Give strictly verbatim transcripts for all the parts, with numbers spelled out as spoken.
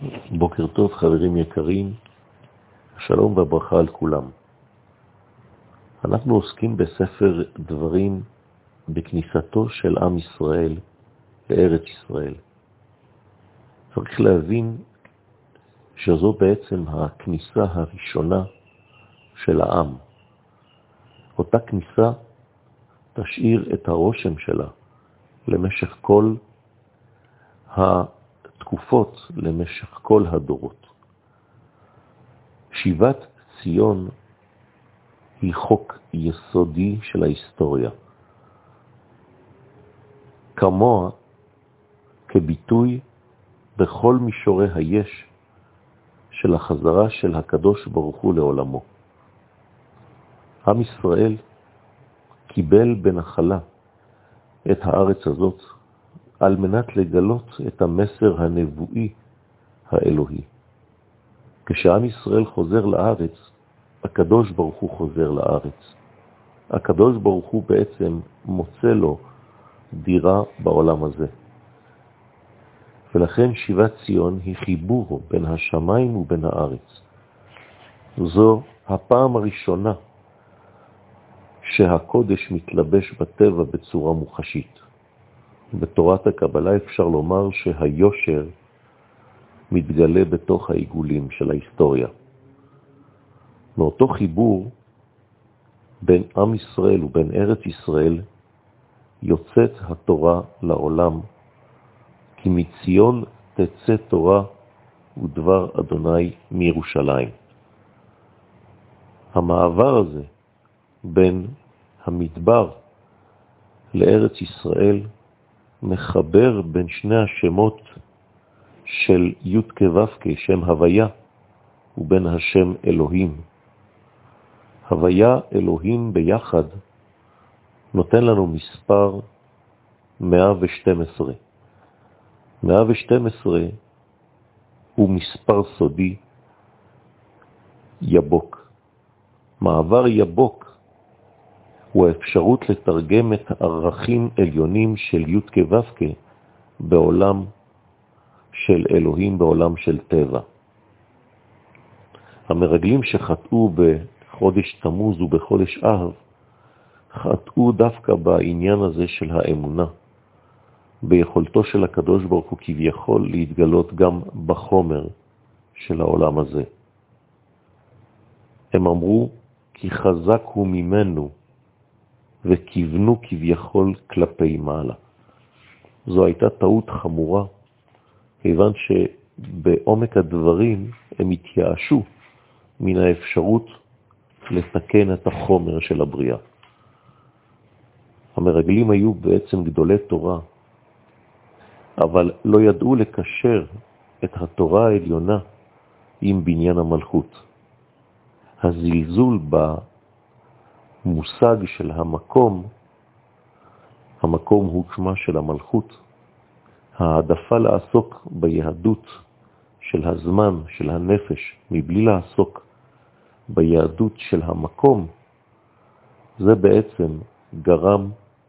בוקר טוב חברים יקרים, שלום וברכה על כולם. אנחנו עוסקים בספר דברים בכניסתו של עם ישראל לארץ ישראל. צריך להבין שזו בעצם הכניסה הראשונה של העם. אותה כניסה תשאיר את הרושם שלה למשך כל התקופות, למשך כל הדורות. שיבת ציון היא חוק יסודי של ההיסטוריה. כמוה כביטוי בכל מישורי היש של החזרה של הקדוש ברוך הוא לעולמו. עם ישראל קיבל בנחלה את הארץ הזאת על מנת לגלות את המסר הנבואי האלוהי. כשעם ישראל חוזר לארץ, הקדוש ברוך הוא חוזר לארץ. הקדוש ברוך הוא בעצם מוצא לו דירה בעולם הזה. ולכן שיבת ציון היא חיבור בין השמיים ובין הארץ. זו הפעם הראשונה שהקודש מתלבש בטבע בצורה מוחשית. בתורת הקבלה אפשר לומר שהיושר מתגלה בתוך העיגולים של ההיסטוריה. מאותו חיבור בין עם ישראל ובין ארץ ישראל יוצאת התורה לעולם, כי מציון תצא תורה ודבר אדוני מירושלים. המעבר הזה בין המדבר לארץ ישראל מחבר בין שני השמות של י' כו' כשם הוויה ובין השם אלוהים. הוויה אלוהים ביחד נותן לנו מספר מאה ושתים עשרה. מאה ושתים עשרה הוא מספר סודי יבוק. מעבר יבוק הוא האפשרות לתרגם את הערכים עליונים של י' כו' בעולם של אלוהים, בעולם של טבע. המרגלים שחטאו בחודש תמוז ובחודש אב, חטאו דווקא בעניין הזה של האמונה, ביכולתו של הקדוש ברוך הוא כביכול להתגלות גם בחומר של העולם הזה. הם אמרו כי חזק הוא ממנו, וכיוונו כביכול כלפי מעלה. זו הייתה טעות חמורה, כיוון שבעומק הדברים הם התייאשו מן האפשרות לתקן את החומר של הבריאה. המרגלים היו בעצם גדולי תורה, אבל לא ידעו לקשר את התורה העליונה עם בניין המלכות. הזלזול במושג של המקום, המקום הוא שמה של המלכות, העדפה לעסוק ביהדות של הזמן, של הנפש, מבלי לעסוק ביהדות של המקום, זה בעצם גרם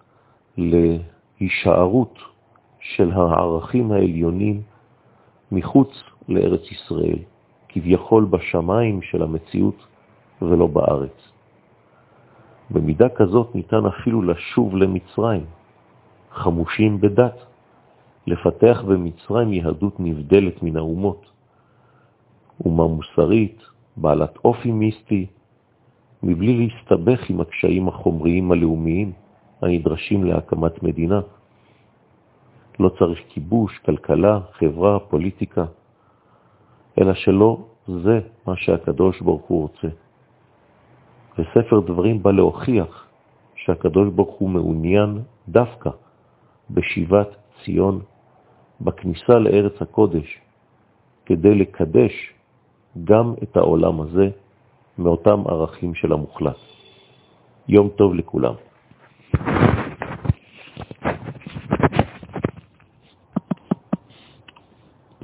להישארות של הערכים העליונים מחוץ לארץ ישראל, כביכול בשמיים של המציאות ולא בארץ. במידה כזאת ניתן אפילו לשוב למצרים, חמושים בדת, לפתח במצרים יהדות נבדלת מן האומות, אומה מוסרית, בעלת אופי מיסטי, מבלי להסתבך עם הקשיים החומריים הלאומיים הנדרשים להקמת מדינה. לא צריך כיבוש, כלכלה, חברה, פוליטיקה, אלא שלא זה מה שהקדוש ברוך הוא רוצה. וספר דברים בא להוכיח שהקדוש ברוך הוא מעוניין דווקא בשיבת ציון, בכניסה לארץ הקודש, כדי לקדש גם את העולם הזה מאותם ערכים של המוחלט. יום טוב לכולם.